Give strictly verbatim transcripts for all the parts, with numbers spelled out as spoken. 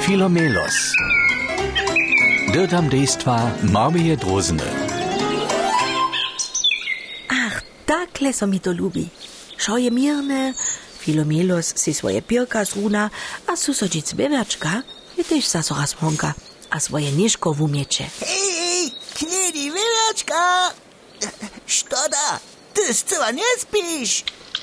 Filomelos. Dyrtam dejstva Marmije Drozene. Ach, takle so mi to lubi. Šo je mirne, Filomelos si svoje pirka zruna, a susodic beverčka je tež zaso raz honka a svoje nižko v umieče. Hej, hej, knedi beverčka! Što da? Ty zcela nespíš?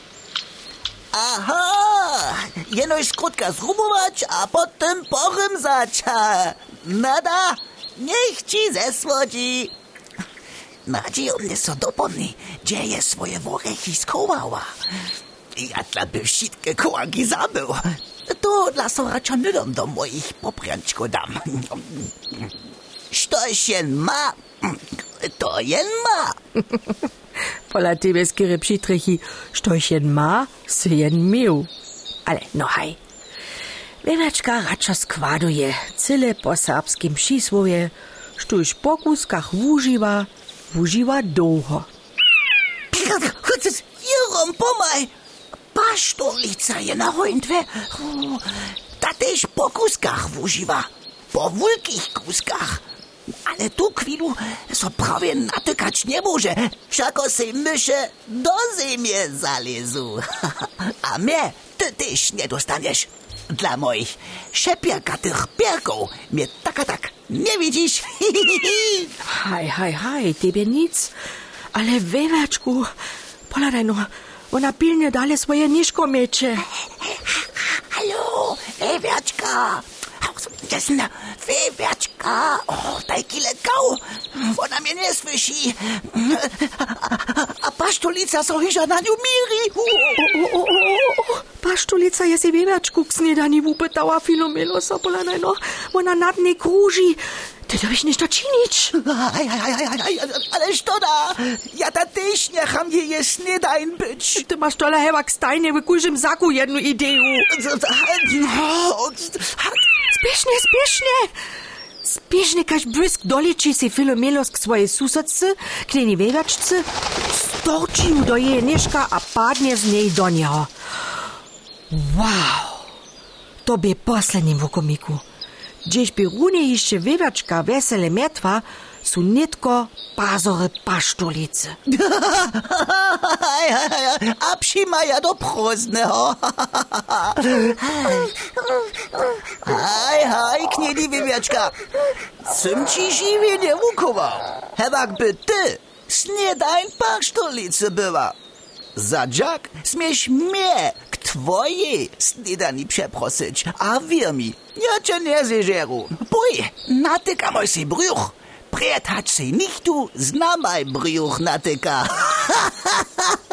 Aha, jenož skrótka zrumować, a potem porymzać. Nada, niech ci zesłodzi. Nadzieją mnie so dopomni, gdzie je swoje worechy schowała. Ja dla by wszystkie kołanki zabył. To dla sorača nydom do moich popręczko dam. Što się ma, to jen ma. Pola tebe skire přitrechi, štož jen má, se jen mił. Ale no haj. Beverčka radšo składuje, cyle po serbskim přisłowie, štož po kuskach wužiwa, wužiwa długo. Jerom, pomaj, paštolica je na hojntve. Ta tež po kuskach wužiwa, po wulkich kuskach. Ale tu chwilu so prawie natykać nie może, wszako se mysze do ziemię zalezu. A mnie ty też nie dostaniesz. Dla moich szepierkatych pierków mnie tak a tak nie widzisz. Haj, haj, haj, tebe nic. Ale Weverčku, poladaj no, ona pilnie dalej swoje niżko miecze. Hallo, Weverčka. Jasna, Weverčka, o, daj kile kau, ona mnie nie słyszy. A paštolica so hiža na niu miri. O, o, o, paštolica je si Weverčku k snedani wupytała Filomelosa, poladaj no, ona nad nie kruži. Ty to byś ništo činić. Aj, aj, aj, aj, aj, ale što da? Ja ta też necham je je snedajn być. Ty masz tola hewak stajnie w kužim zaku jednu ideju. Spiešne, spiešne. Spiešne, kaž błysk doliči si Filomelos k svojej susodce, k njeni Weverčce, storči ju do jeje nižka a padne z nej do njeho. Wow, to by posledním v okomiku. Gdzieś by runie jeszcze Weverčka wesele metwa, su nitko pazory paštolice. A przymaja do prozneho. Haj, haj, knedi Weverčka. Sym ci žiwie nie wukował. Hewak by ty snedajn paštolice była. Za dziak smiesz mnie k twojej snedani przeprosić, a wier mi, ja cię nie zeżeru. Bój, natykam si brzuch. Prietać si nichtu, znamaj brzuch natyka.